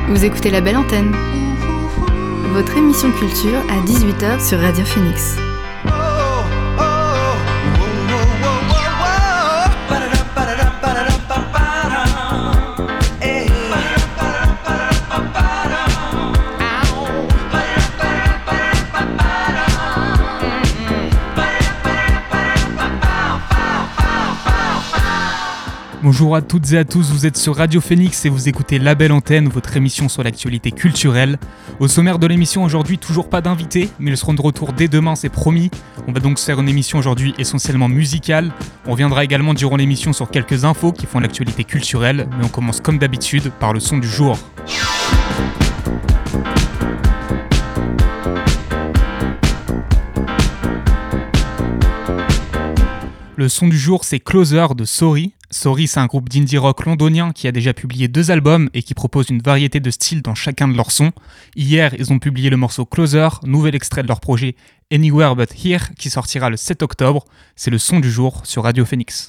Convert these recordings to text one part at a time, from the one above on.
Vous écoutez La Belle Antenne, votre émission culture à 18h sur Radio Phoenix. Bonjour à toutes et à tous, vous êtes sur Radio Phoenix et vous écoutez La Belle Antenne, votre émission sur l'actualité culturelle. Au sommaire de l'émission aujourd'hui, toujours pas d'invités, mais ils seront de retour dès demain, c'est promis. On va donc se faire une émission aujourd'hui essentiellement musicale. On reviendra également durant l'émission sur quelques infos qui font l'actualité culturelle, mais on commence comme d'habitude par le son du jour. Le son du jour, c'est Closer de Sorry. Sorry, c'est un groupe d'indie rock londonien qui a déjà publié 2 albums et qui propose une variété de styles dans chacun de leurs sons. Hier, ils ont publié le morceau Closer, nouvel extrait de leur projet Anywhere But Here, qui sortira le 7 octobre. C'est le son du jour sur Radio Phoenix.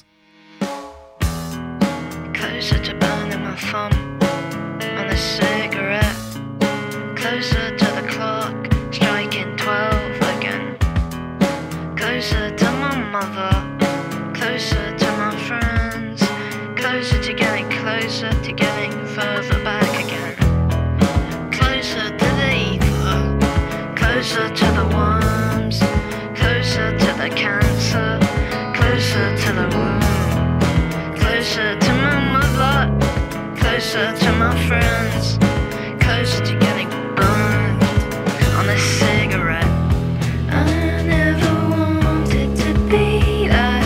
Closer to burning my thumb on a cigarette. Closer to the clock, striking 12 again. Closer to my mother. Closer to my friends, closer to getting further back again. Closer to the ether, closer to the worms, closer to the cancer, closer to the womb. Closer to my mother, closer to my friends, closer to getting burned on a cigarette. I never wanted to be that.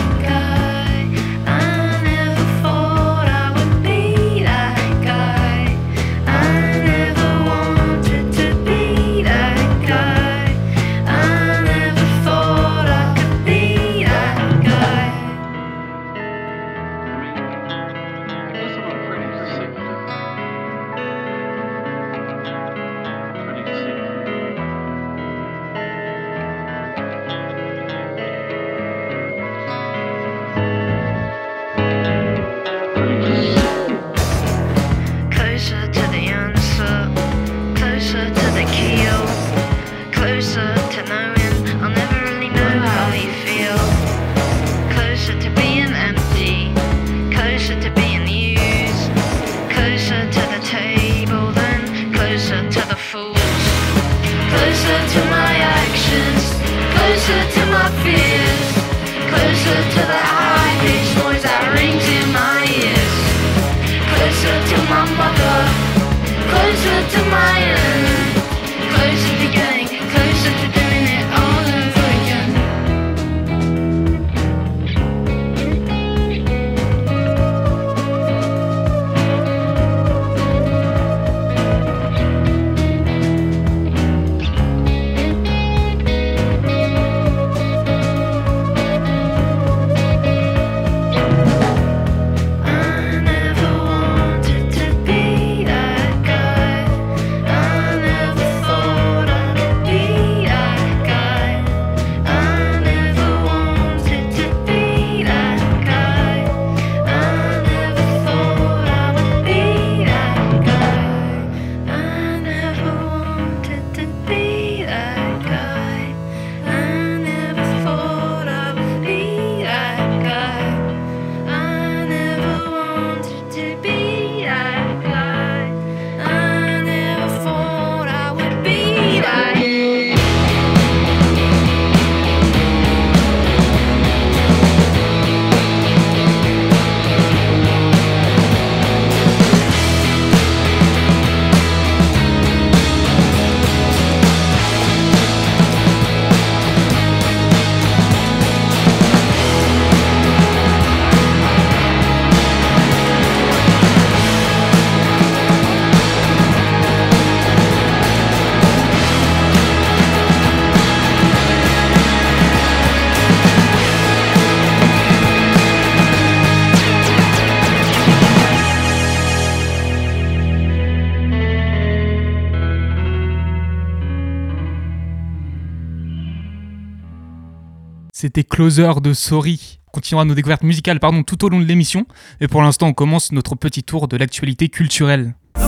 C'était Closer de Sorry. On continuera nos découvertes musicales tout au long de l'émission. Et pour l'instant, on commence notre petit tour de l'actualité culturelle.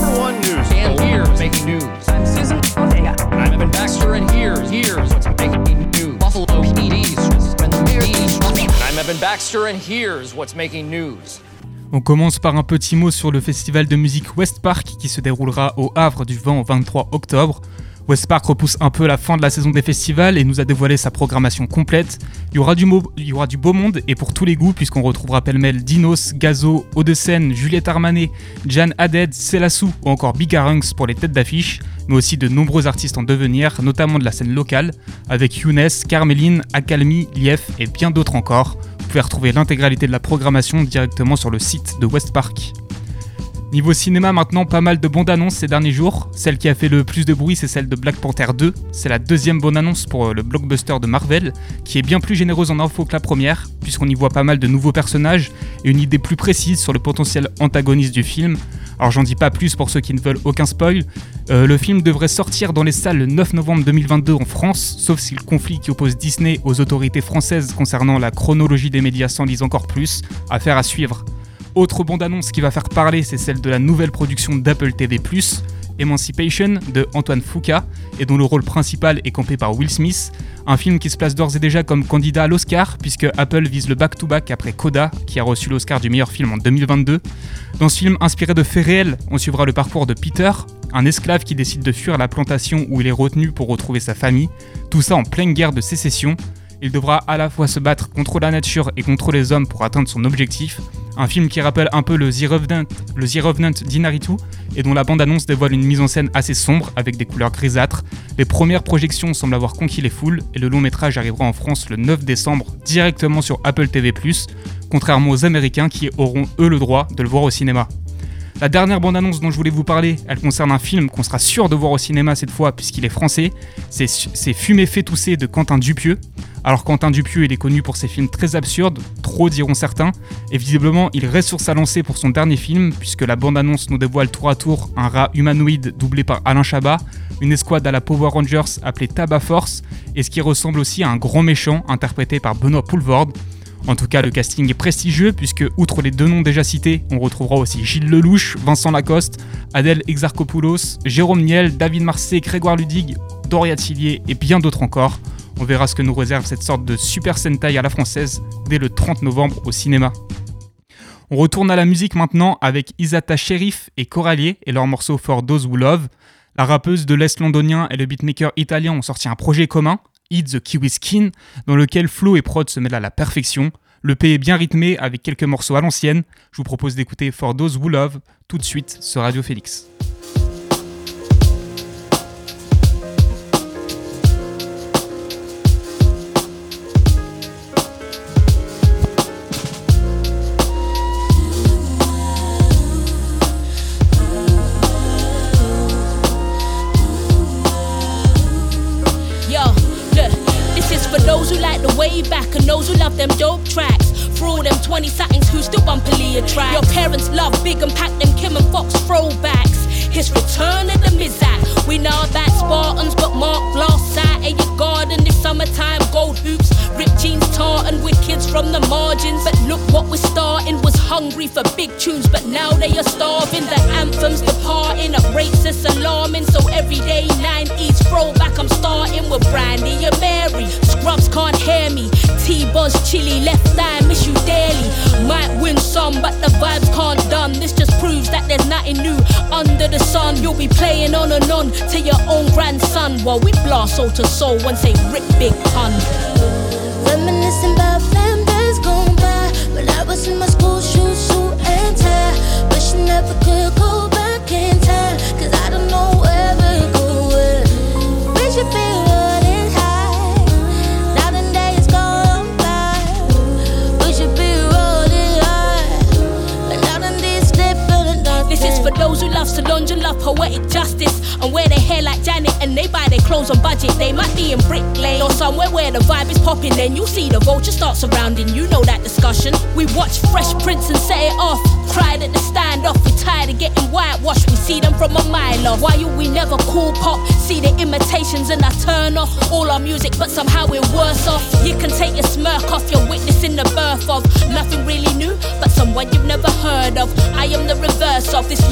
number one news. And here's making news. I'm Susan Ortega. I'm Evan Baxter, and here's what's making news. Buffalo PD's. I'm Evan Baxter, and here's what's making news. On commence par un petit mot sur le festival de musique West Park qui se déroulera au Havre du 20 au 23 octobre. West Park repousse un peu la fin de la saison des festivals et nous a dévoilé sa programmation complète. Il y aura du beau monde et pour tous les goûts puisqu'on retrouvera pêle-mêle Dinos, Gazo, Odesen, Juliette Armanet, Jan Haded, Selassou ou encore Big Arunks pour les têtes d'affiche, mais aussi de nombreux artistes en devenir, notamment de la scène locale, avec Younes, Carmeline, Akalmi, Lief et bien d'autres encore. Vous pouvez retrouver l'intégralité de la programmation directement sur le site de West Park. Niveau cinéma maintenant, pas mal de bandes annonces ces derniers jours. Celle qui a fait le plus de bruit, c'est celle de Black Panther 2. C'est la deuxième bande annonce pour le blockbuster de Marvel, qui est bien plus généreuse en infos que la première, puisqu'on y voit pas mal de nouveaux personnages et une idée plus précise sur le potentiel antagoniste du film. Alors j'en dis pas plus pour ceux qui ne veulent aucun spoil. Le film devrait sortir dans les salles le 9 novembre 2022 en France, sauf si le conflit qui oppose Disney aux autorités françaises concernant la chronologie des médias s'en dise encore plus. Affaire à suivre. Autre bande-annonce qui va faire parler, c'est celle de la nouvelle production d'Apple TV+, Emancipation, de Antoine Fuqua, et dont le rôle principal est campé par Will Smith. Un film qui se place d'ores et déjà comme candidat à l'Oscar, puisque Apple vise le back-to-back après Coda, qui a reçu l'Oscar du meilleur film en 2022. Dans ce film inspiré de faits réels, on suivra le parcours de Peter, un esclave qui décide de fuir la plantation où il est retenu pour retrouver sa famille, tout ça en pleine guerre de sécession. Il devra à la fois se battre contre la nature et contre les hommes pour atteindre son objectif. Un film qui rappelle un peu le The Revenant d'Inaritu et dont la bande-annonce dévoile une mise en scène assez sombre avec des couleurs grisâtres. Les premières projections semblent avoir conquis les foules et le long métrage arrivera en France le 9 décembre directement sur Apple TV+, contrairement aux Américains qui auront eux le droit de le voir au cinéma. La dernière bande-annonce dont je voulais vous parler, elle concerne un film qu'on sera sûr de voir au cinéma cette fois puisqu'il est français. C'est Fumer fait tousser de Quentin Dupieux. Alors Quentin Dupieux, il est connu pour ses films très absurdes, trop diront certains, et visiblement il reste sur sa lancée pour son dernier film puisque la bande-annonce nous dévoile tour à tour un rat humanoïde doublé par Alain Chabat, une escouade à la Power Rangers appelée Tabac Force, et ce qui ressemble aussi à un grand méchant interprété par Benoît Poelvoorde. En tout cas, le casting est prestigieux puisque, outre les deux noms déjà cités, on retrouvera aussi Gilles Lelouch, Vincent Lacoste, Adèle Exarchopoulos, Jérôme Niel, David Marseille, Grégoire Ludig, Doria Tillier et bien d'autres encore. On verra ce que nous réserve cette sorte de Super Sentai à la française dès le 30 novembre au cinéma. On retourne à la musique maintenant avec Isata Sherif et Coralier et leur morceau For Those Who Love. La rappeuse de l'Est londonien et le beatmaker italien ont sorti un projet commun, Eat the Kiwi Skin, dans lequel flow et prod se mêlent à la perfection. Le P est bien rythmé avec quelques morceaux à l'ancienne. Je vous propose d'écouter For Those Who Love tout de suite sur Radio Phoenix. Way back and those who love them dope tracks. For all them 20-somethings who still bump Aaliyah tracks. Your parents love Big and Pack, them Kim and Fox throwbacks. His return of the Mizat. We know that Spartans, but Mark blasts out at your garden this summertime. Gold hoops, ripped jeans, tartan with kids from the margins. But look what we're starting, was hungry for big tunes, but now they are starving. The anthems departing, up rates it's alarming. So everyday 90s throwback, I'm starting with Brandy and Mary. Scrubs can't hear me. T-Buzz, chili, left eye, miss you daily. Might win some, but the vibes can't done. This just proves that there's nothing new under the sun. You'll be playing on and on to your own grandson while we blast soul to soul and say rip big pun. Reminiscing about them days gone by when I was in my school shoes, suit and tie. Wish I never could go back in time, cause I don't know where we're going. We should be running high. Now the days gone by. We should be rolling high. But now the days slipping and nothing. This is for those who love Solange and love poetic justice and wear their hair like Janet and they buy their clothes on budget. They might be in Brick Lane or somewhere where the vibe is popping. Then you'll see the vulture start surrounding. You know that discussion. We watch Fresh Prince and set it off. Cried at the standoff. We tired of getting whitewashed. We see them from a mile off. Why you we never cool pop? See the imitations and I turn off all our music, but somehow we're worse off. You can take your smirk off. You're witnessing the birth of nothing really new, but someone you've never heard of. I am the reverse of this land's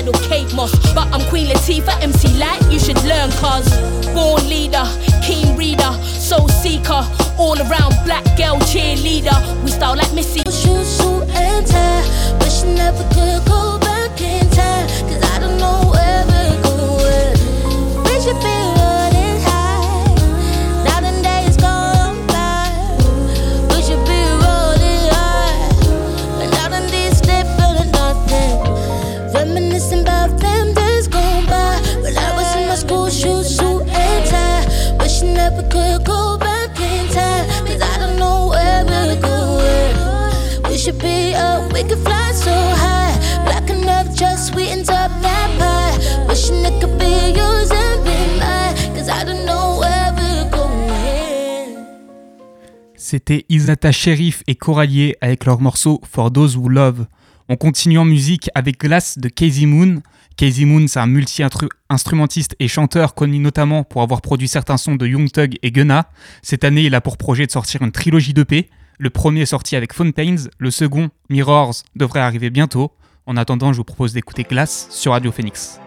idol Kate Moss. But I'm Queen Latifah, MC Light, you should learn cuz. Born leader, keen reader, soul seeker, all around black girl cheerleader. We style like Missy. Shoes, suit and tie. Wish I never could go back in time, cause I don't know where we're going. We should be running high. Now the days gone by. We should be rolling high. But now the days slipping and nothing. Reminiscing about them days gone by. When I was in my school shoes, suit and tie. Wish I never could go back in time, cause I don't know where we're going. We should be up, we could fly so high. Black enough, just sweetens up that pie. Wishing it could be yours and be mine, cause I don't know where we're going. C'était Isata Sherif et Corallier avec leur morceau For Those Who Love. On continue en musique avec Glass de Casey Moon. Casey Moon, c'est un multi-instrumentiste et chanteur connu notamment pour avoir produit certains sons de Young Thug et Gunna. Cette année, il a pour projet de sortir une trilogie d'EP. Le premier est sorti avec Fountains, le second, Mirrors, devrait arriver bientôt. En attendant, je vous propose d'écouter Glass sur Radio Phoenix.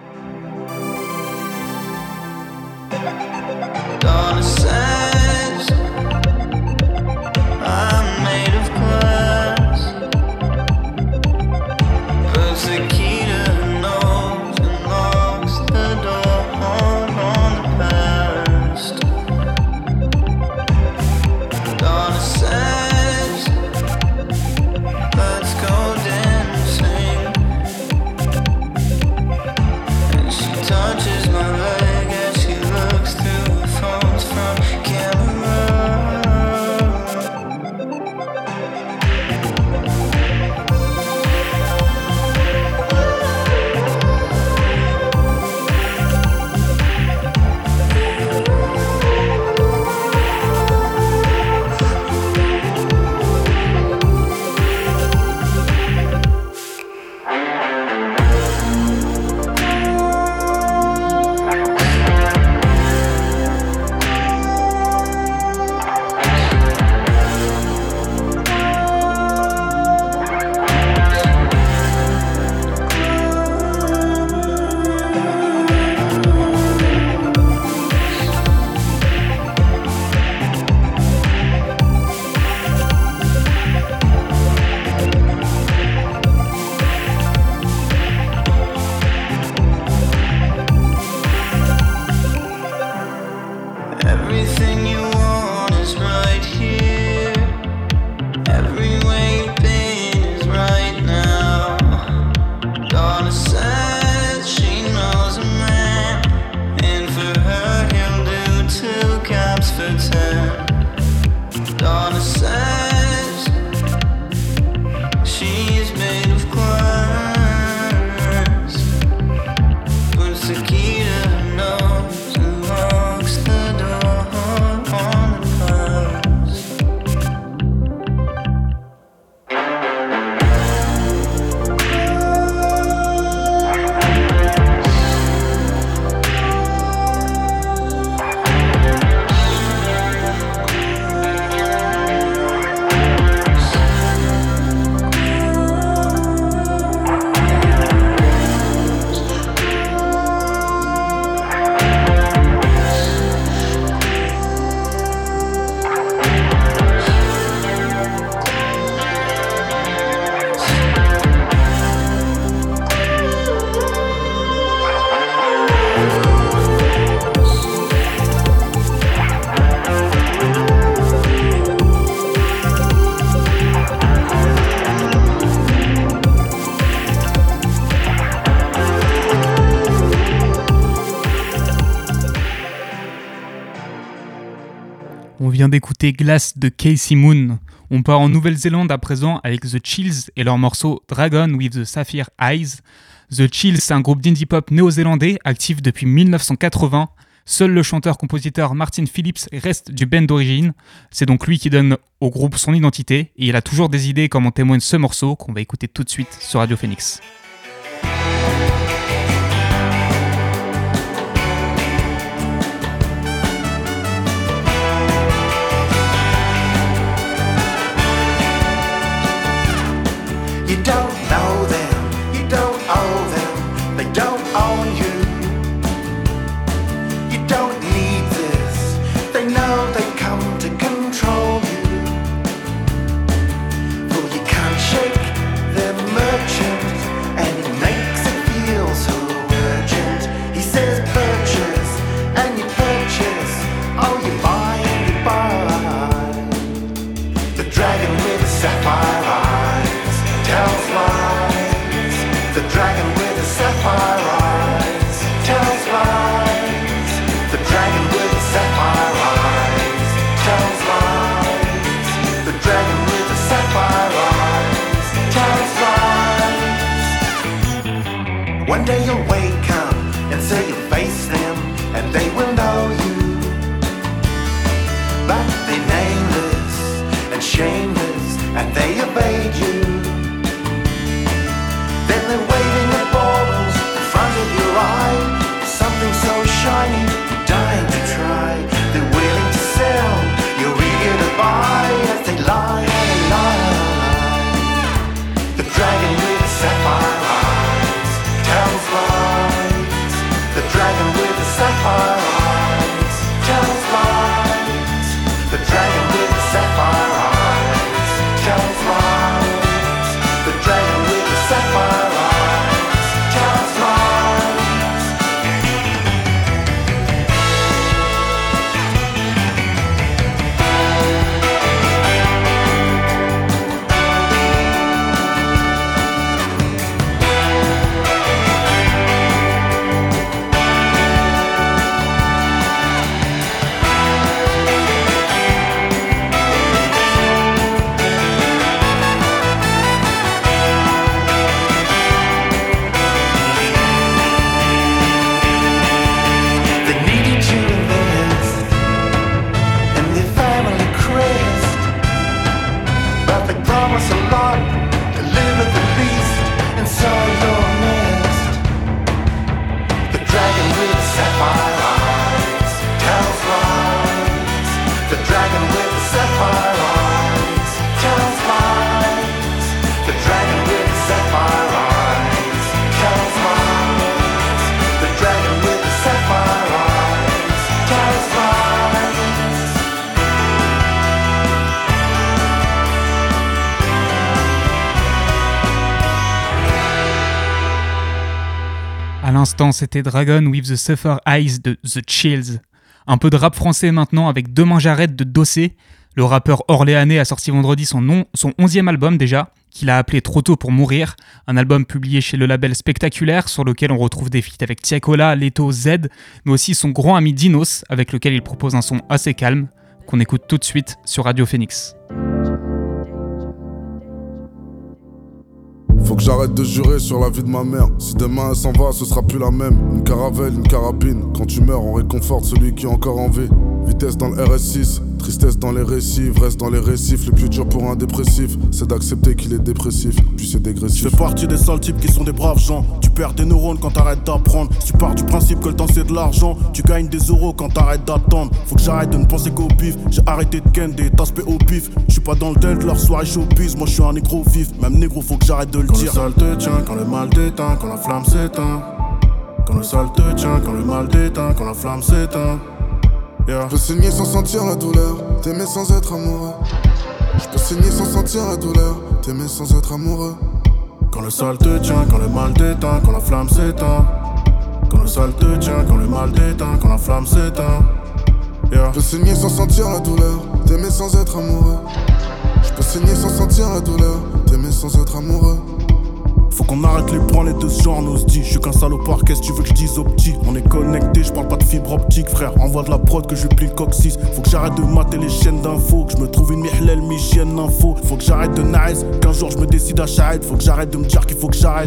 Touches my leg as she looks through her phones from On vient d'écouter Glass de Casey Moon. On part en Nouvelle-Zélande à présent avec The Chills et leur morceau Dragon with the Sapphire Eyes. The Chills, c'est un groupe d'indie pop néo-zélandais actif depuis 1980. Seul le chanteur-compositeur Martin Phillips reste du band d'origine. C'est donc lui qui donne au groupe son identité et il a toujours des idées comme en témoigne ce morceau qu'on va écouter tout de suite sur Radio Phoenix. You don't know them, you don't owe them, they dragon with the sapphire eyes tells lies. The dragon with the sapphire eyes tells lies. The dragon with the sapphire eyes tells lies. One day you'll wake up and say you'll face them, and they will know you. But they're nameless and shameless, and they evade you. Then they're waving their baubles in front of your eye. Something so shiny, you're dying to try. They're willing to sell, you're eager to buy. As they lie and lie and lie. The dragon with the sapphire eyes tells lies. The dragon with the sapphire eyes tells lies. The dragon with the sapphire eyes tells lies. The dragon with the sapphire eyes tells lies. They needed to invest in their family crest, but they promise a lot, deliver the least, and so you're missed. The dragon with the sapphire eyes tells lies. The dragon with the sapphire eyes tells lies. The dragon with the sapphire eyes tells lies. The dragon with the sapphire eyes tells lies. À l'instant, c'était Dragon with the Sapphire Eyes de The Chills. Un peu de rap français maintenant avec Demain j'arrête de Dossé. Le rappeur orléanais a sorti vendredi son 11e album déjà, qu'il a appelé Trop tôt pour mourir. Un album publié chez le label Spectaculaire, sur lequel on retrouve des feats avec Tiakola, Leto, Z, mais aussi son grand ami Dinos, avec lequel il propose un son assez calme, qu'on écoute tout de suite sur Radio Phoenix. Faut que j'arrête de jurer sur la vie de ma mère. Si demain elle s'en va, ce sera plus la même. Une caravelle, une carabine. Quand tu meurs, on réconforte celui qui est encore en vie. Vitesse dans le RS6, tristesse dans les récits, ivresse dans les récifs. Le plus dur pour un dépressif, c'est d'accepter qu'il est dépressif, puis c'est dégressif. Je fais partie des sales types qui sont des braves gens. Tu perds des neurones quand t'arrêtes d'apprendre. Si tu pars du principe que le temps c'est de l'argent, tu gagnes des euros quand t'arrêtes d'attendre. Faut que j'arrête de ne penser qu'au bif. J'ai arrêté de ken des taspés au pif. Je suis pas dans le dead, leur soirée showbiz. Moi je suis un négro vif, même négro faut que j'arrête de le dire. Quand le sale te tient, quand le mal t'éteint, quand la flamme s'éteint. Quand le sale te tient, quand le mal t'éteint, quand la flamme s'éteint. Yeah. Je peux saigner sans sentir la douleur, t'aimer sans être amoureux. Je peux saigner sans sentir la douleur, t'aimer sans être amoureux. Quand le sale te tient, quand le mal t'éteint, quand la flamme s'éteint. Quand le sale te tient, quand le mal t'éteint, quand la flamme s'éteint. Yeah. Je peux saigner sans sentir la douleur, t'aimer sans être amoureux. Je peux saigner sans sentir la douleur, t'aimer sans être amoureux. Faut qu'on arrête les branlées de ce genre, on se dit. Je suis qu'un salopard, qu'est-ce que tu veux que je dise au petit? On est connecté, je parle pas de fibre optique, frère. Envoie de la prod que je plie le coccyx. Faut que j'arrête de mater les chaînes d'infos, que je me trouve une mihlel, mi-chienne d'infos. Faut que j'arrête de nice, qu'un jour je me décide à Shahid. Faut que j'arrête de me dire qu'il faut que j'arrête.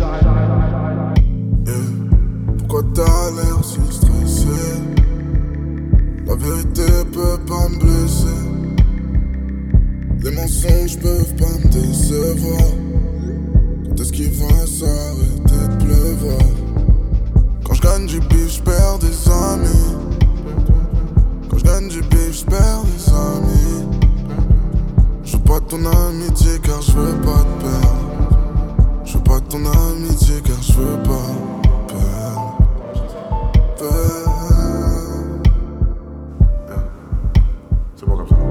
Pourquoi t'as l'air si stressé? La vérité peut pas me blesser. Les mensonges peuvent pas me décevoir. Quand est-ce qu'il va s'arrêter de pleuvoir? Quand je gagne du bif, je perds des amis. Quand je gagne du bif, je perds des amis. Je veux pas de ton amitié car je veux pas te perdre. Je veux pas de ton amitié car je veux pas perdre. C'est bon comme ça.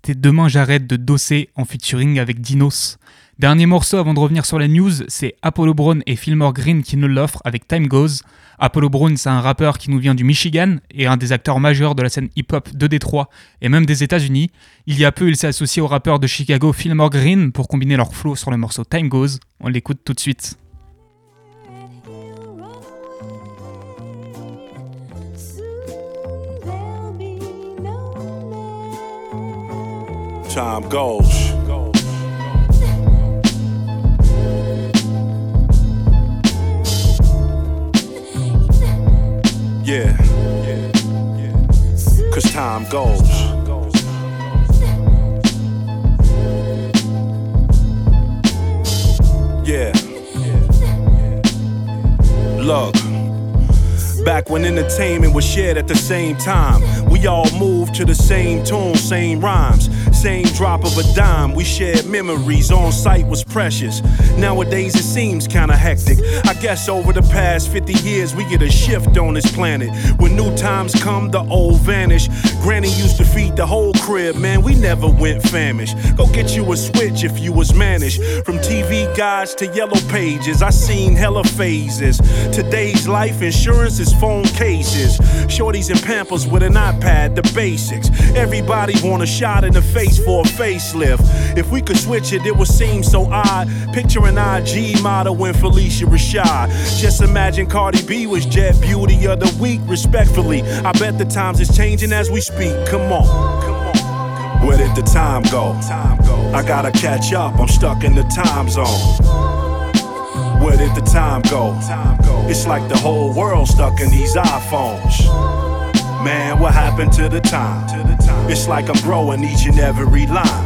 c'était Demain j'arrête de Dossé en featuring avec Dinos. Dernier morceau avant de revenir sur la news, c'est Apollo Brown et Fillmore Green qui nous l'offrent avec Time Goes. Apollo Brown, c'est un rappeur qui nous vient du Michigan et un des acteurs majeurs de la scène hip-hop de Détroit et même des États-Unis. Il y a peu, il s'est associé au rappeur de Chicago Fillmore Green pour combiner leur flow sur le morceau Time Goes. On l'écoute tout de suite. Time goes. Yeah. Cause time goes. Yeah. Look. Back when entertainment was shared at the same time, we all moved to the same tune, same rhymes, same drop of a dime. We shared memories, on sight was precious. Nowadays it seems kinda hectic. I guess over the past 50 years we get a shift on this planet. When new times come, the old vanish. Granny used to feed the whole crib, man, we never went famished. Go get you a switch if you was managed. From TV guides to yellow pages, I seen hella phases. Today's life insurance is phone cases. Shorties and Pampers with an iPad, the basics. Everybody want a shot in the face for a facelift. If we could switch it, it would seem so odd. Picture an IG model and Felicia Rashad. Just imagine Cardi B was Jet Beauty of the Week, respectfully. I bet the times is changing as we speak. Come on. Where did the time go? I gotta catch up, I'm stuck in the time zone. Where did the time go? It's like the whole world stuck in these iPhones. Man, what happened to the time? It's like I'm growing each and every line.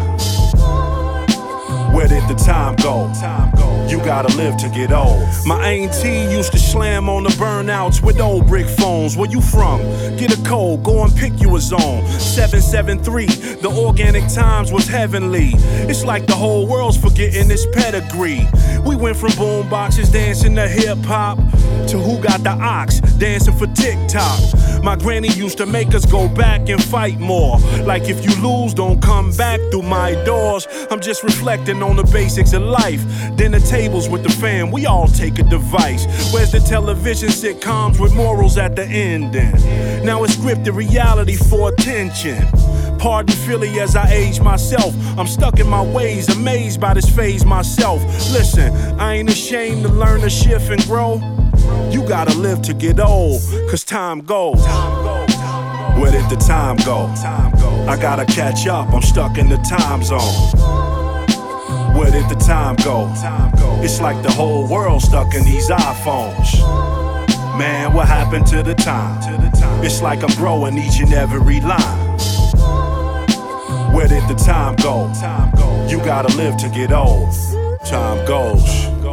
Where did the time go? You gotta live to get old. My auntie used to slam on the burnouts with old brick phones. Where you from? Get a code, go and pick you a zone. 773, the organic times was heavenly. It's like the whole world's forgetting its pedigree. We went from boom boxes dancing to hip hop to Who Got the Ox dancing for TikTok. My granny used to make us go back and fight more. Like if you lose, don't come back through my doors. I'm just reflecting on the basics of life. Dinner tables with the fam, we all take a device. Where's the television sitcoms with morals at the ending? Now it's scripted reality for attention. Pardon Philly as I age myself. I'm stuck in my ways, amazed by this phase myself. Listen, I ain't ashamed to learn to shift and grow. You gotta live to get old, cause time goes. Where did the time go? I gotta catch up, I'm stuck in the time zone. Where did the time go? It's like the whole world stuck in these iPhones. Man, what happened to the time? It's like I'm growing each and every line. Where did the time go? You gotta live to get old. Time goes.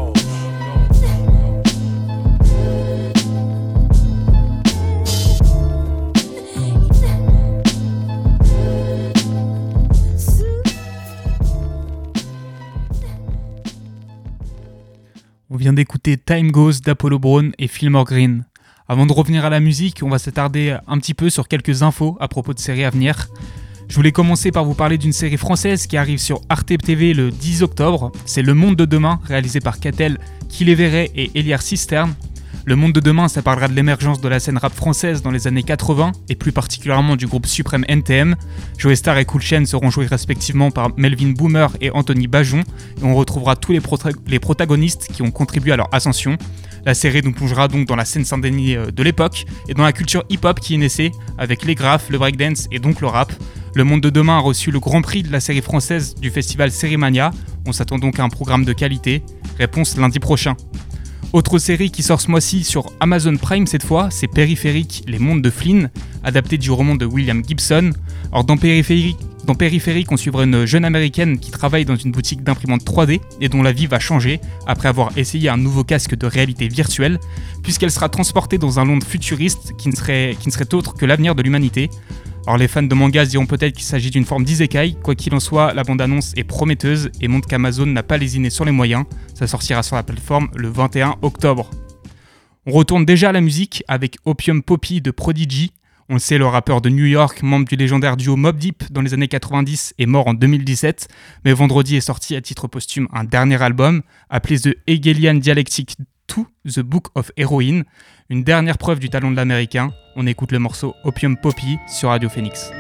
On vient d'écouter Time Goes d'Apollo Brown et Fillmore Green. Avant de revenir à la musique, on va s'attarder un petit peu sur quelques infos à propos de séries à venir. Je voulais commencer par vous parler d'une série française qui arrive sur Arte TV le 10 octobre. C'est Le Monde de Demain, réalisé par Catel, Kiléverret et Eliar Cisterne. Le Monde de Demain, ça parlera de l'émergence de la scène rap française dans les années 80 et plus particulièrement du groupe suprême NTM. Joey Star et Cool Chain seront joués respectivement par Melvin Boomer et Anthony Bajon et on retrouvera tous les protagonistes qui ont contribué à leur ascension. La série nous plongera donc dans la scène Saint-Denis de l'époque et dans la culture hip-hop qui est naissée avec les graphes, le breakdance et donc le rap. Le Monde de Demain a reçu le grand prix de la série française du festival Sérimania. On s'attend donc à un programme de qualité. Réponse lundi prochain. Autre série qui sort ce mois-ci sur Amazon Prime cette fois, c'est Périphérique, les mondes de Flynn, adapté du roman de William Gibson. Alors dans Périphérique, on suivra une jeune américaine qui travaille dans une boutique d'imprimante 3D et dont la vie va changer après avoir essayé un nouveau casque de réalité virtuelle, puisqu'elle sera transportée dans un monde futuriste qui ne serait autre que l'avenir de l'humanité. Alors les fans de manga diront peut-être qu'il s'agit d'une forme d'isekai, quoi qu'il en soit, la bande-annonce est prometteuse et montre qu'Amazon n'a pas lésiné sur les moyens, ça sortira sur la plateforme le 21 octobre. On retourne déjà à la musique avec Opium Poppy de Prodigy. On le sait, le rappeur de New York, membre du légendaire duo Mobb Deep dans les années 90, est mort en 2017, mais vendredi est sorti à titre posthume un dernier album, appelé The Hegelian Dialectic to the Book of Heroin, une dernière preuve du talent de l'américain. On écoute le morceau Opium Poppy sur Radio Phoenix.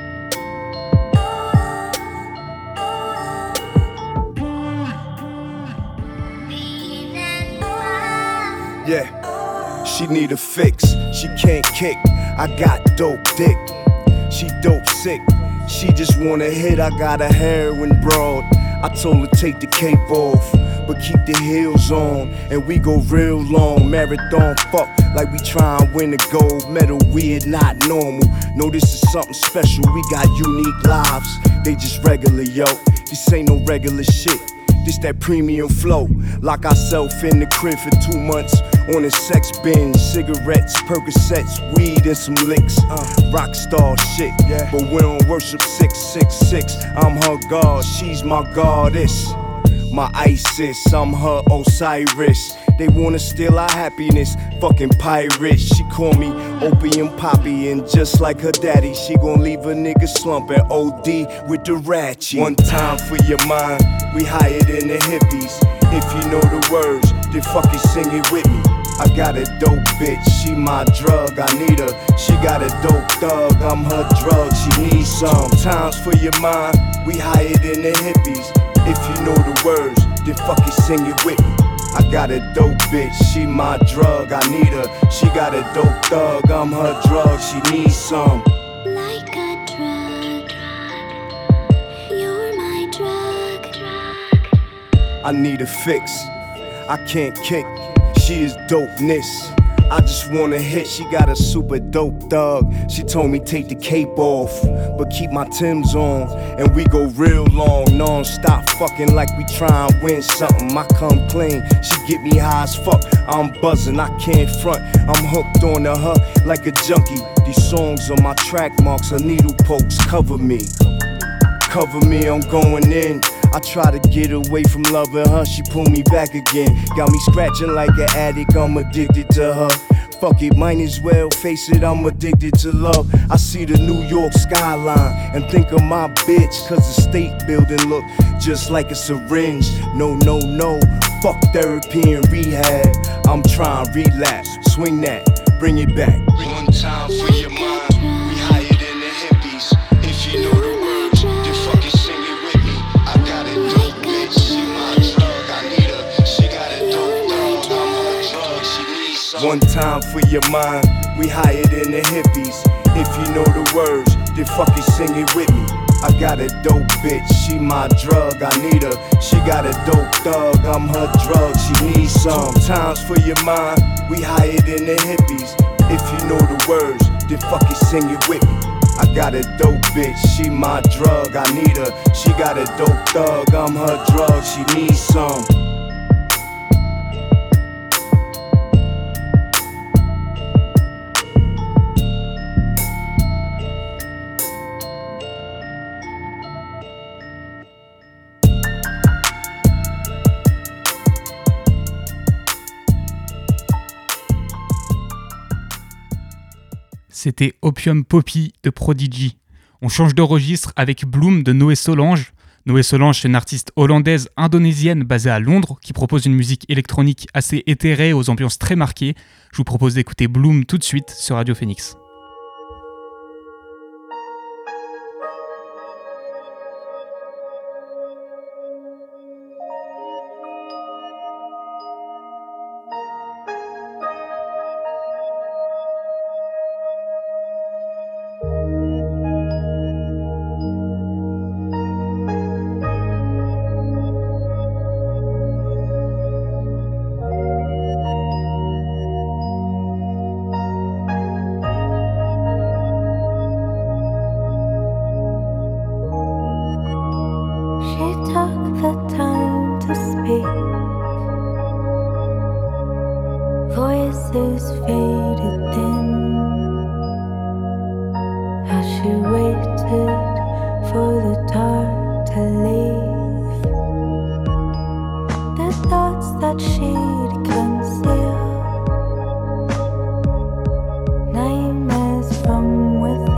Yeah, she need a fix, she can't kick. I got dope dick, she dope sick. She just wanna hit, I got a heroin broad. I told her take the cape off, but keep the heels on. And we go real long, marathon fuck like we tryin' win a gold medal. Weird, not normal. No, this is something special, we got unique lives. They just regular, yo, this ain't no regular shit. This that premium flow. Lock ourselves in the crib for 2 months on a sex binge. Cigarettes, Percocets, weed and some licks. Rockstar shit, yeah. But we don't worship 666. I'm her god, she's my goddess. My Isis, I'm her Osiris. They wanna steal our happiness, fucking pirates. She call me Opium Poppy, and just like her daddy, she gon' leave a nigga slumping OD with the ratchet. One time for your mind, we higher than the hippies. If you know the words, then fucking sing it with me. I got a dope bitch, she my drug, I need her. She got a dope thug, I'm her drug, she needs some. Times for your mind, we higher than the hippies. If you know the words, then fucking sing it with me. I got a dope bitch, she my drug, I need her. She got a dope thug, I'm her drug, she needs some. Like a drug, you're my drug. I need a fix, I can't kick, she is dopeness. I just wanna hit, she got a super dope thug. She told me take the cape off, but keep my Timbs on. And we go real long, non-stop fucking like we tryin' win something. I come clean, she get me high as fuck. I'm buzzing, I can't front. I'm hooked on to her like a junkie. These songs on my track marks, her needle pokes cover me. Cover me, I'm going in. I try to get away from loving her, she pull me back again. Got me scratching like an addict, I'm addicted to her. Fuck it, might as well face it, I'm addicted to love. I see the New York skyline and think of my bitch, cause the state building look just like a syringe. No, no, no, fuck therapy and rehab. I'm trying to relapse, swing that, bring it back. One time for your mind, we higher than the hippies. If you know the words, then fucking sing it with me. I got a dope bitch, she my drug, I need her. She got a dope dog, I'm her drug, she needs some. One time for your mind, we higher than the hippies. If you know the words, then fucking sing it with me. I got a dope bitch, she my drug, I need her. She got a dope thug, I'm her drug, she needs some. Times for your mind, we higher than the hippies. If you know the words, then fucking sing it with me. I got a dope bitch, she my drug, I need her. She got a dope thug, I'm her drug, she needs some. C'était Opium Poppy de Prodigy. On change de registre avec Bloom de Noé Solange. Noé Solange, c'est une artiste hollandaise indonésienne basée à Londres qui propose une musique électronique assez éthérée aux ambiances très marquées. Je vous propose d'écouter Bloom tout de suite sur Radio Phoenix. Voices faded thin as she waited for the dark to leave. The thoughts that she'd conceal, nightmares from within.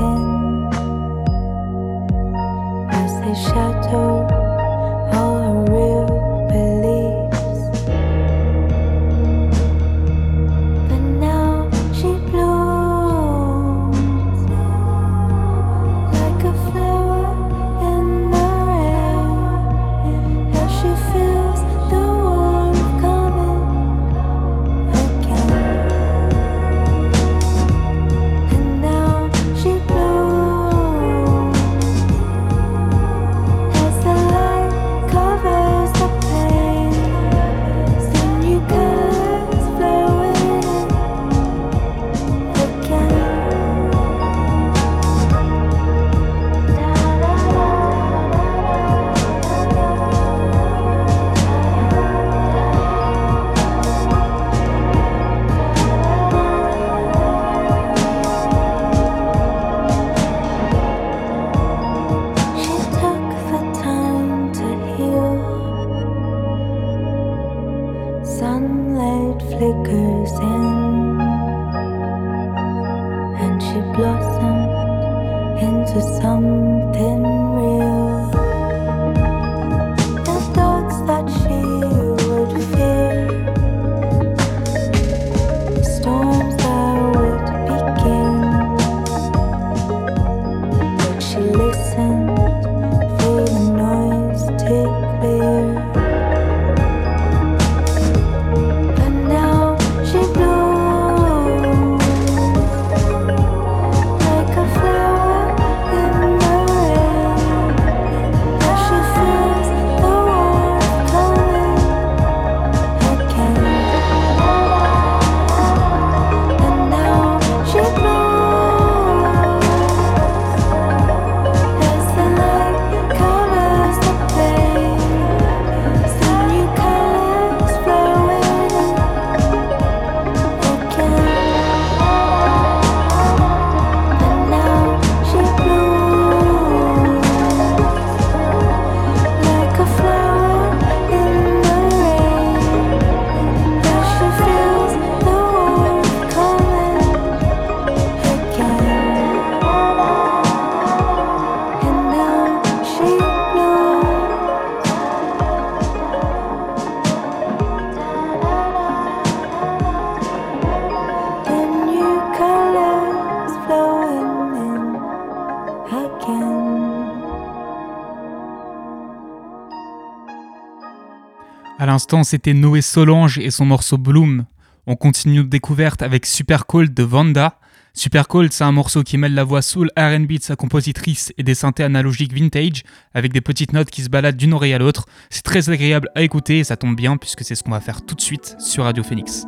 À l'instant, c'était Noé Solange et son morceau Bloom. On continue notre découverte avec Super Cold de Vanda. Super Cold, c'est un morceau qui mêle la voix soul R&B de sa compositrice et des synthés analogiques vintage avec des petites notes qui se baladent d'une oreille à l'autre. C'est très agréable à écouter et ça tombe bien puisque c'est ce qu'on va faire tout de suite sur Radio Phoenix.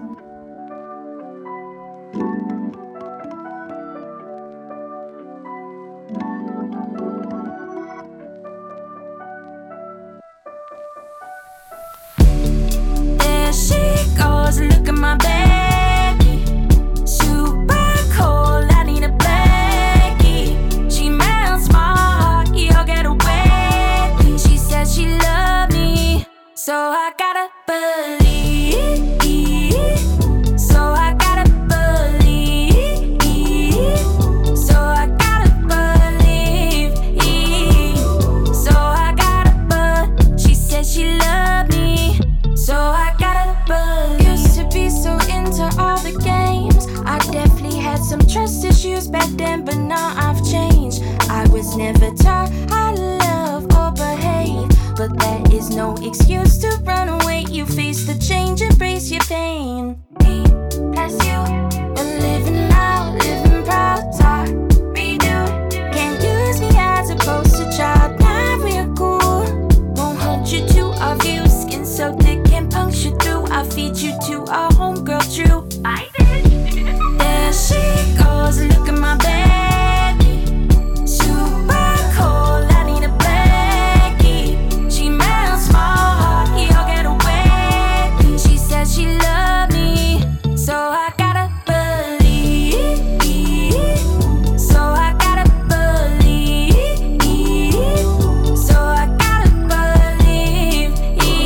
Look at my baby, super cold. I need a blankie. She melts my heart, you'll get away. She says she loved me, so I gotta believe. So I gotta believe. So I gotta believe. So I gotta she says she loved me, so I gotta believe. Be so into all the games. I definitely had some trust issues back then, but now I've changed. I was never taught how to love or behave, but that is no excuse to run away. You face the change, embrace your pain. Bless you. And living loud, living proud, talk, redo. Can't use me as a poster child. Now we're cool. Won't hold you to our views. Skin so thick and puncture through. I'll feed you to our homegirl true. Bye, bitch. There she goes, look at my baby. Super cold, I need a blankie. She melts my heart, you'll get away. She says she loved me, so I gotta believe. So I gotta believe. So I gotta believe.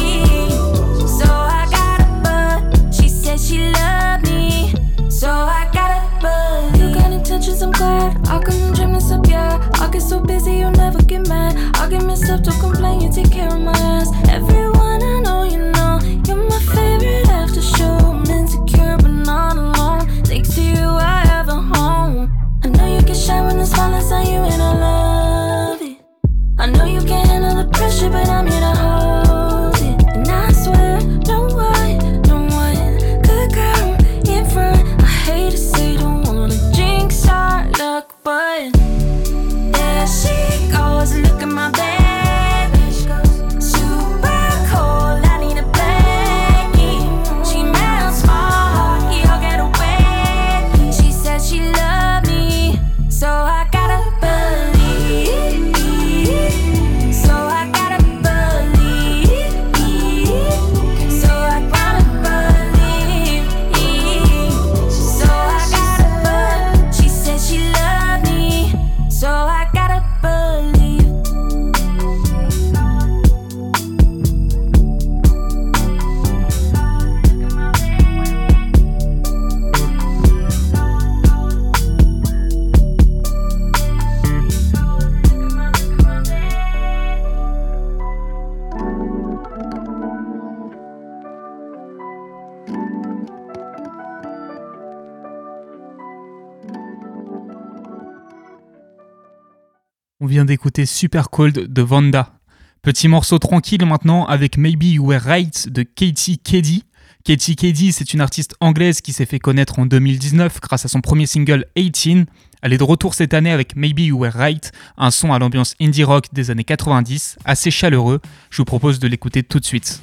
So I gotta she said she loved me, so I gotta believe. You got intentions, I'm glad. I couldn't dream this up, yeah. I get so busy, you'll never get mad. I get messed up, don't complain, you take care of my ass. Everyone I know, you know, you're my favorite after show. I'm insecure, but not alone. Thanks to you, I have a home. I know you can shine when the spotlight's on you, and I love it. I know you can't handle the pressure, but I'm here to hold it. And I swear, don't worry, don't worry. Good girl in front. I hate to say, don't wanna jinx our luck, but there she goes. Look at my baby. Super cold. I need a blankie. She melts my heart. You'll get away. She says she loved me, so I gotta believe. So I gotta believe. So I gotta believe. So I gotta she said she loved me, so I gotta believe. On vient d'écouter Super Cold de Vanda. Petit morceau tranquille maintenant avec Maybe You Were Right de Katie Keddy. Katie Keddy, c'est une artiste anglaise qui s'est fait connaître en 2019 grâce à son premier single 18. Elle est de retour cette année avec Maybe You Were Right, un son à l'ambiance indie rock des années 90, assez chaleureux. Je vous propose de l'écouter tout de suite.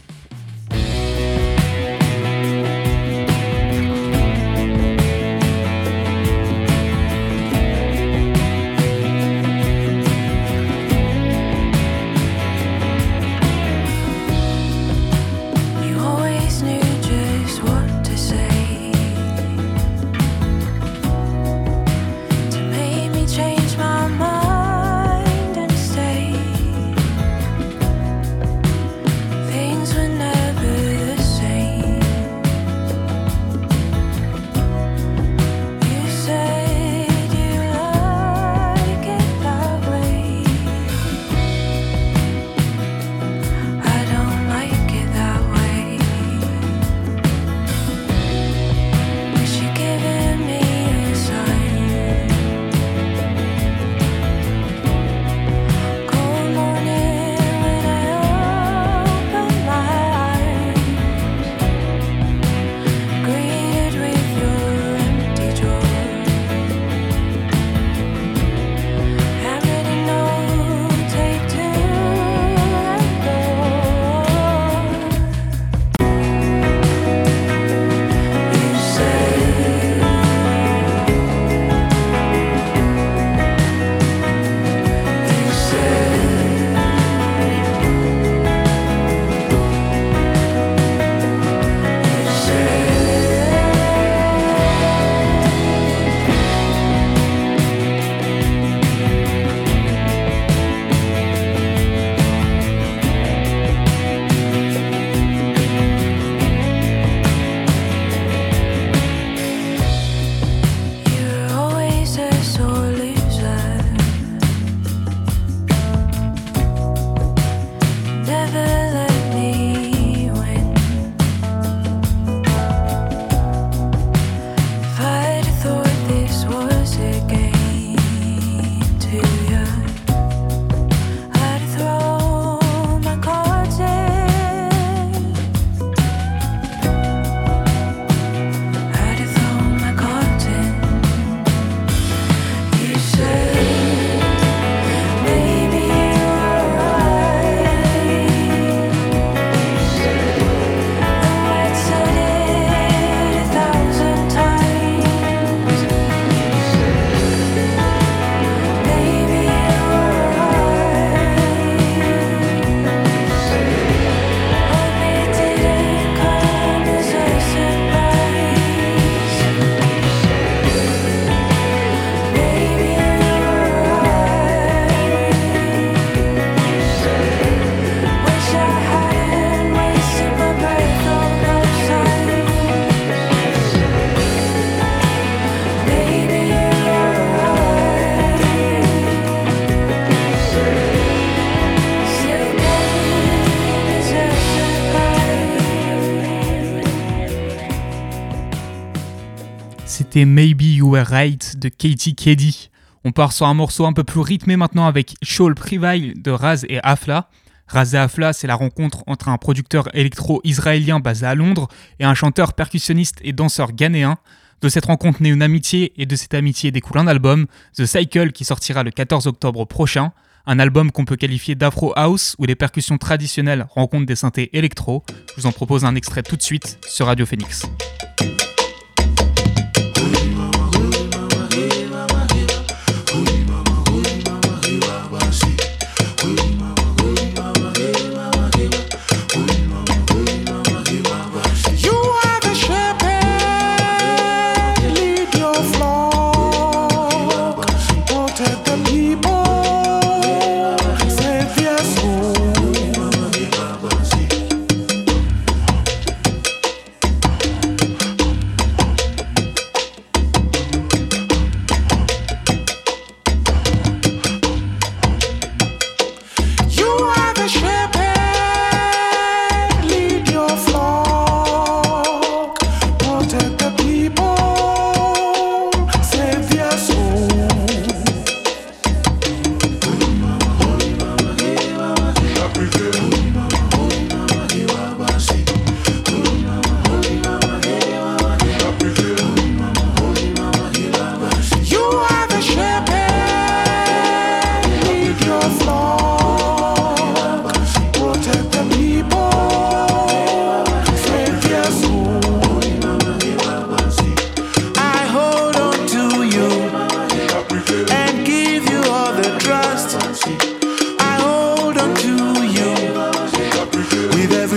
C'était Maybe You Were Right de Katie Keddy. On part sur un morceau un peu plus rythmé maintenant avec Shawl Prevail de Raz et Afla. Raz et Afla, c'est la rencontre entre un producteur électro-israélien basé à Londres et un chanteur percussionniste et danseur ghanéen. De cette rencontre naît une amitié et de cette amitié découle un album, The Cycle, qui sortira le 14 octobre prochain. Un album qu'on peut qualifier d'Afro House où les percussions traditionnelles rencontrent des synthés électro. Je vous en propose un extrait tout de suite sur Radio Phoenix.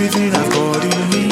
everything I've got in me.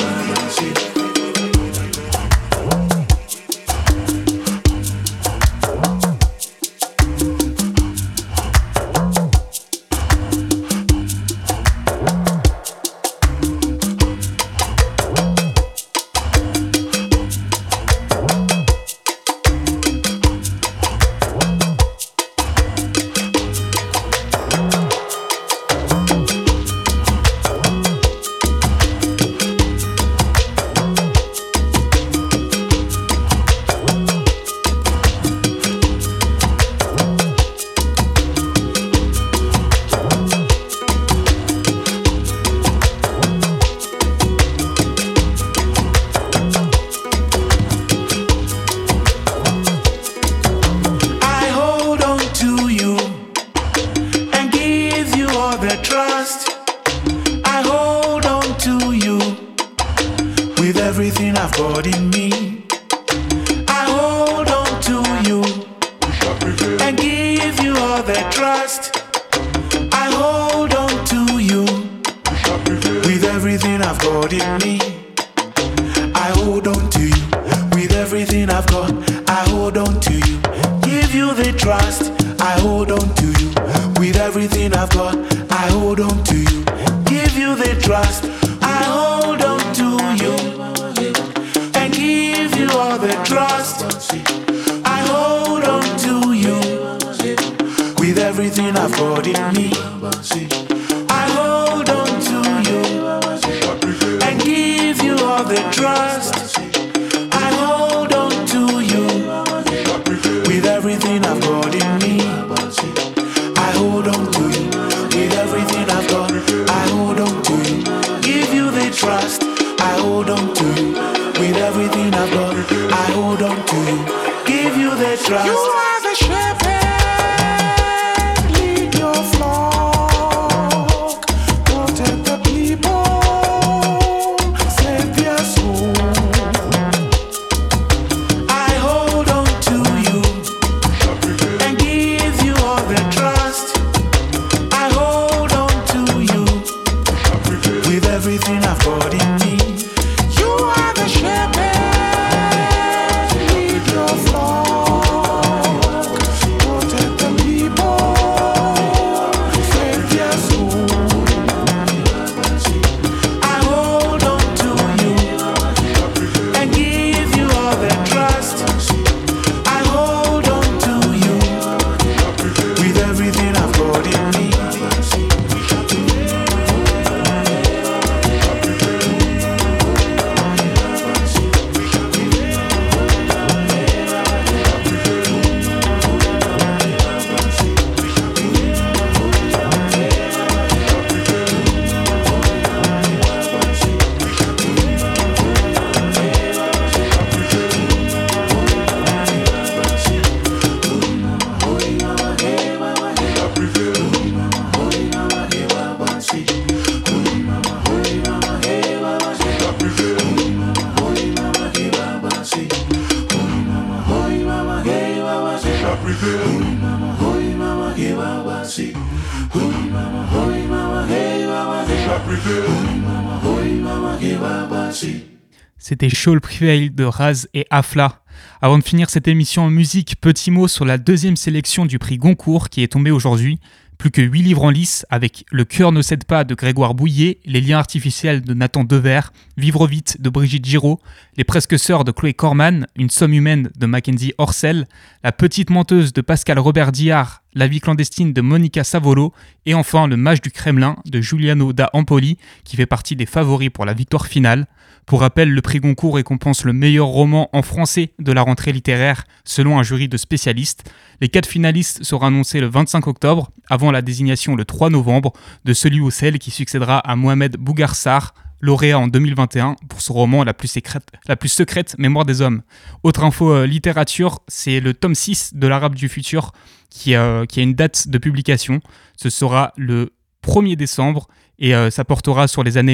C'était Shawl Prevail de Raz et Afla. Avant de finir cette émission en musique, petit mot sur la deuxième sélection du prix Goncourt qui est tombée aujourd'hui. Plus que 8 livres en lice avec Le cœur ne cède pas de Grégoire Bouillet, Les liens artificiels de Nathan Dever, Vivre vite de Brigitte Giraud, Les presque sœurs de Chloé Corman, Une somme humaine de Mackenzie Orsel, La petite menteuse de Pascal Robert Diard, La vie clandestine de Monica Savolo et enfin Le mage du Kremlin de Giuliano da Empoli qui fait partie des favoris pour la victoire finale. Pour rappel, le prix Goncourt récompense le meilleur roman en français de la rentrée littéraire selon un jury de spécialistes. Les 4 finalistes seront annoncés le 25 octobre, avant la désignation le 3 novembre de celui ou celle qui succédera à Mohamed Bougarsar, lauréat en 2021 pour son roman la plus secrète Mémoire des hommes. Autre info littérature, c'est le tome 6 de l'Arabe du futur qui a une date de publication. Ce sera le 1er décembre et ça portera sur les années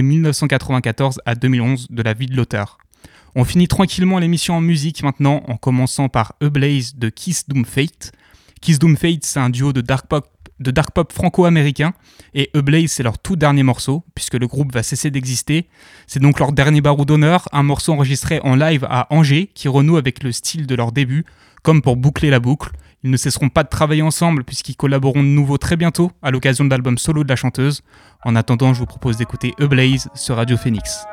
1994 à 2011 de la vie de l'auteur. On finit tranquillement l'émission en musique maintenant en commençant par A Blaze de Kiss Doom Fate. Kiss Doom Fate, c'est un duo de dark pop dark pop franco-américain, et Ablaze c'est leur tout dernier morceau, puisque le groupe va cesser d'exister. C'est donc leur dernier barreau d'honneur, un morceau enregistré en live à Angers, qui renoue avec le style de leur début, comme pour boucler la boucle. Ils ne cesseront pas de travailler ensemble, puisqu'ils collaboreront de nouveau très bientôt, à l'occasion de l'album solo de la chanteuse. En attendant, je vous propose d'écouter Ablaze sur Radio Phoenix.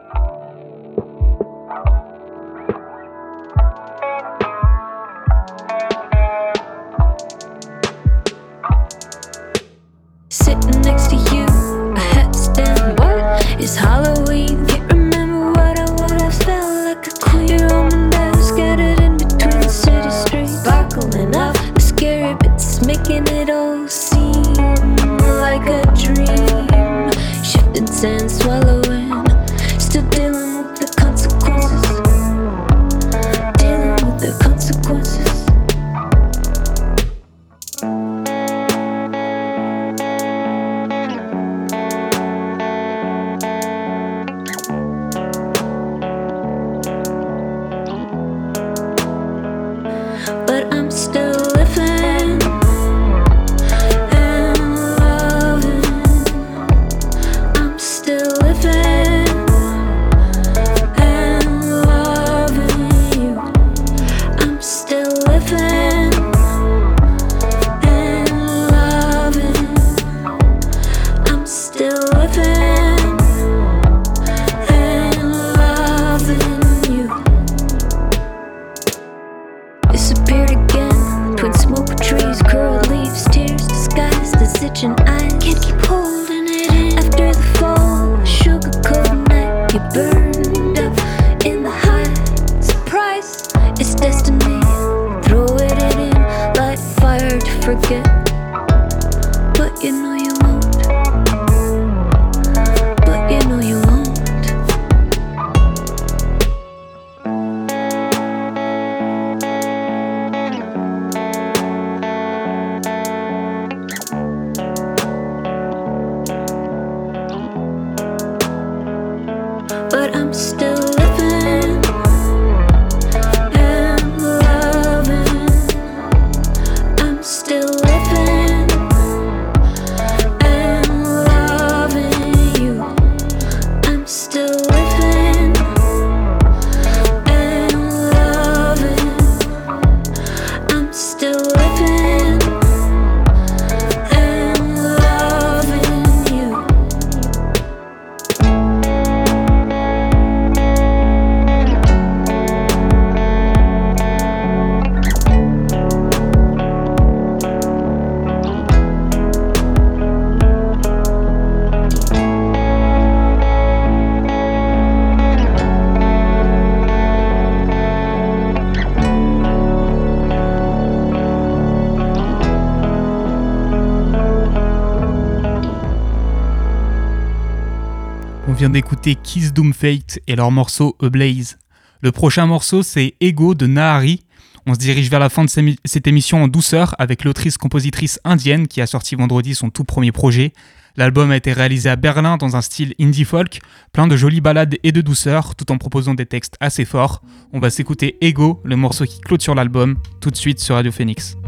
Sitting next to you, a headstand. What? It's Halloween. Can't remember what I would have felt like a queen. Your own desk scattered in between the city streets. Sparkling up the scary bits, making it all seem like a dream. Shifting sand, swallowing, still dealing with the consequences. Dealing with the consequences. But I'm still living and loving. I'm still living and loving you. I'm still living and loving. I'm still living and loving you. Disappeared again between smoke trees, curled leaves, tears disguised as itching eyes. Can't keep holding it in. After the fall, sugar cold night, you burned up in the high. Surprise, it's destiny. Throw it in, light fire to forget. But you know you won't. But you know you won't. But I'm still living and loving. I'm still living and loving you. I'm still living and loving. I'm still living and loving you. On vient d'écouter Kiss Doom Fate et leur morceau Ablaze. Le prochain morceau, c'est Ego de Nahari. On se dirige vers la fin de cette émission en douceur avec l'autrice-compositrice indienne qui a sorti vendredi son tout premier projet. L'album a été réalisé à Berlin dans un style indie folk, plein de jolies ballades et de douceur, tout en proposant des textes assez forts. On va s'écouter Ego, le morceau qui clôture l'album, tout de suite sur Radio Phoenix.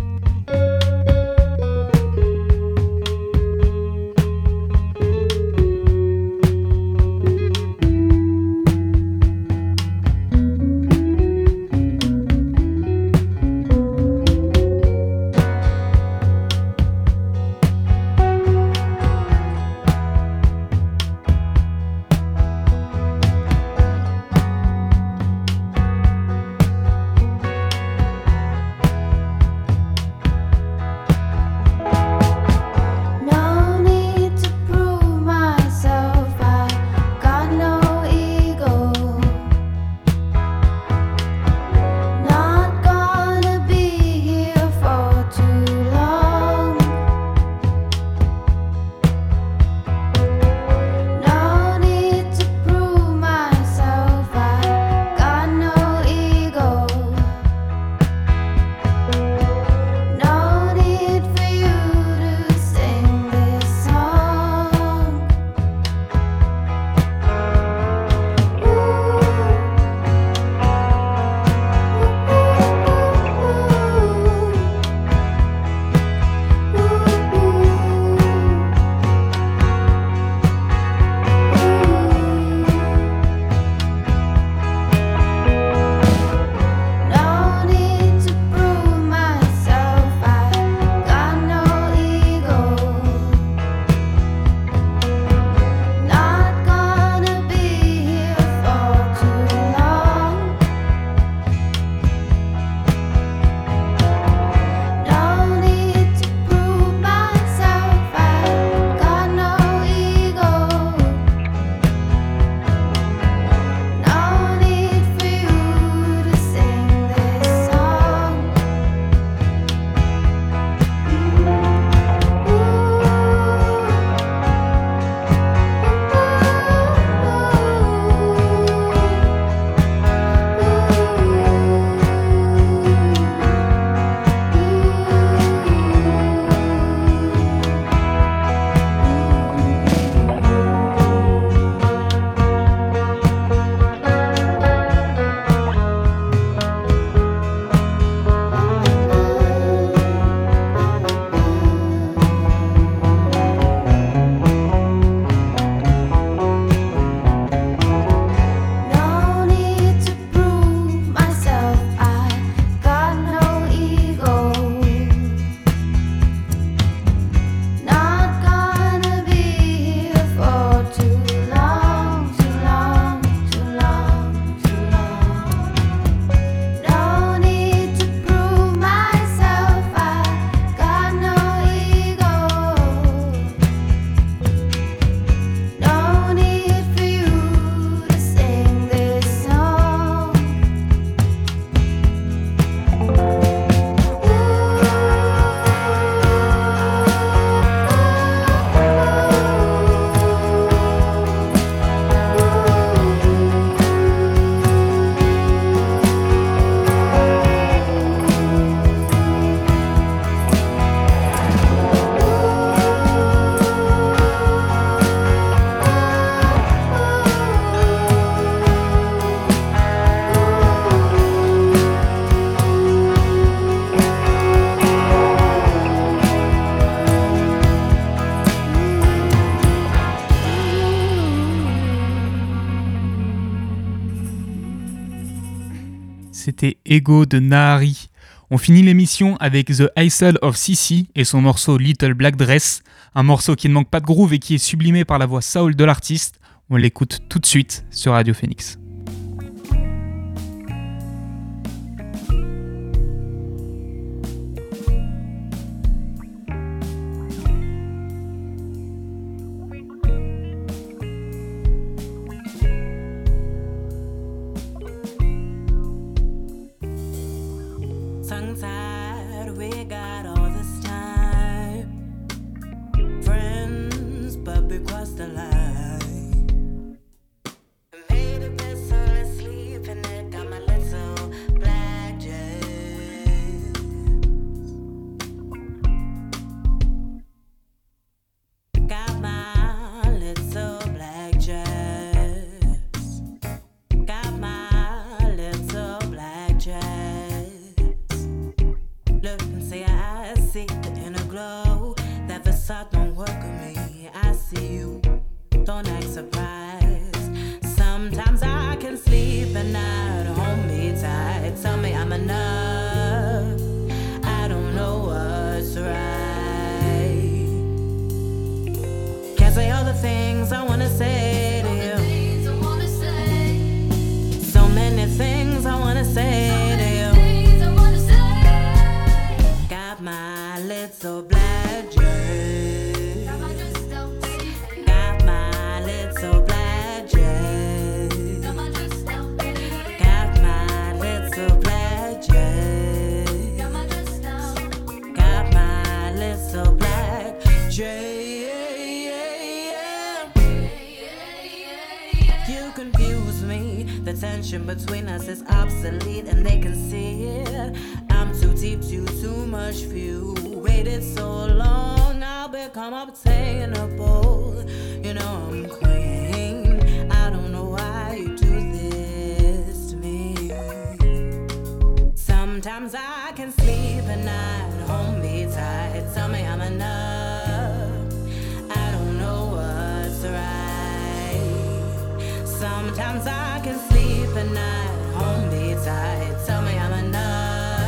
C'était Ego de Nahari. On finit l'émission avec The Hustle of Sissy et son morceau Little Black Dress, un morceau qui ne manque pas de groove et qui est sublimé par la voix soul de l'artiste. On l'écoute tout de suite sur Radio Phoenix. Tongue-tied, we got all this time. Friends, but we crossed the line. Made a bed, so let's sleep in it. Got my little black dress. Got my little black dress. Got my little black dress. Look and see, I see the inner glow. That facade don't work with me. I see you, don't act surprised. Sometimes I can sleep at night. Hold me tight, tell me I'm enough. I don't know what's right. Can't say all the things I wanna say to you. So many things I wanna say to you. Got my little black dress. Got my little black dress. Got my little black dress. Got my little black dress. You confuse me. The tension between us is obsolete and they can see it. I'm too deep, too much for you. Waited so long, I'll become obtainable. You know I'm queen. I don't know why you do this to me. Sometimes I can sleep at night. Hold me tight, tell me I'm enough. I don't know what's right. Sometimes I can sleep at night. Hold me tight, tell me I'm enough.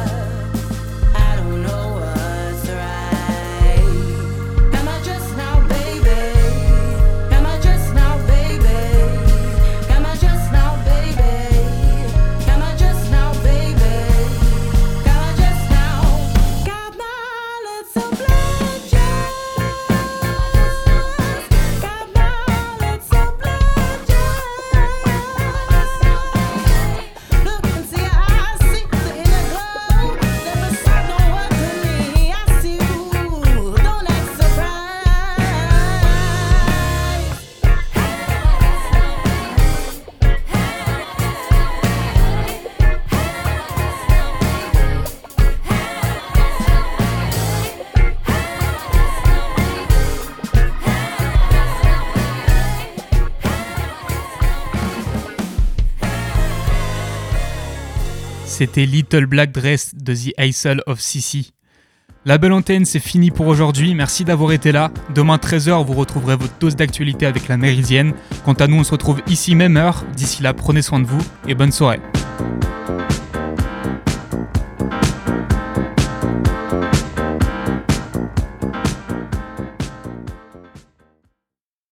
C'était Little Black Dress de The Hustle of Sissy. La belle antenne, c'est fini pour aujourd'hui. Merci d'avoir été là. Demain 13h, vous retrouverez votre dose d'actualité avec la Méridienne. Quant à nous, on se retrouve ici même heure. D'ici là, prenez soin de vous et bonne soirée.